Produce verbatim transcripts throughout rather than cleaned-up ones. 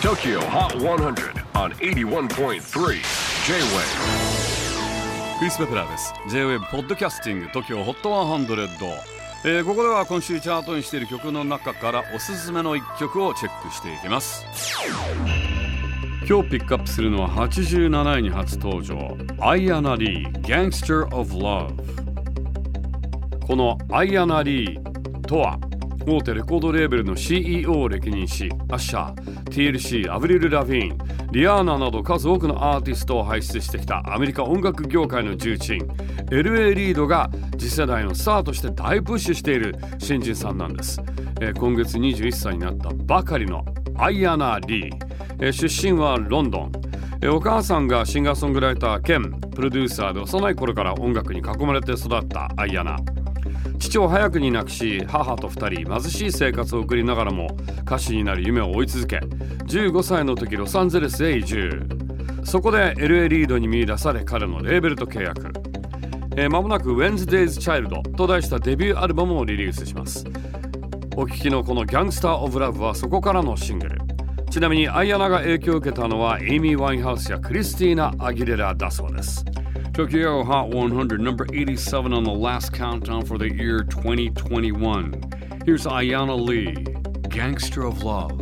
Tokyo Hot one hundred on エイティワンポイントスリー J-Wave。 クリス・ペプラーです。 J-Wave ポッドキャスティング Tokyo Hot ワンハンドレッド、えー、ここでは今週チャートにしている曲の中からおすすめのいっきょくをチェックしていきます。今日ピックアップするのははちじゅうなないに初登場、アイアナ・リー Gangster of Love。 このアイアナ・リーとは大手レコードレーベルの シーイーオー を歴任し、アッシャー、ティーエルシー、アブリル・ラヴィーン、リアーナなど数多くのアーティストを輩出してきたアメリカ音楽業界の重鎮 エルエー リードが次世代のスターとして大プッシュしている新人さんなんです。えー、今月にじゅういっさいになったばかりのアイアナ・リー、えー、出身はロンドン、えー、お母さんがシンガーソングライター兼プロデューサーで幼い頃から音楽に囲まれて育ったアイアナ。父を早くに亡くし、母とふたり貧しい生活を送りながらも歌手になる夢を追い続け、じゅうごさいの時ロサンゼルスへ移住。そこで エルエー リードに見出され、彼のレーベルと契約。えー、間もなく Wednesday's Child と題したデビューアルバムをリリースします。お聴きのこの Gangster of Love はそこからのシングル。ちなみにアイアナが影響を受けたのはエイミー・ワインハウスやクリスティーナ・アギレラだそうです。Tokyo Hot one hundred, number eighty-seven on the last countdown for the year twenty twenty-one. Here's Ayana Lee, Gangster of Love.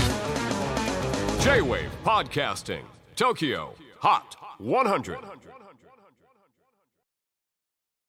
J-Wave Podcasting, Tokyo Hot one hundred.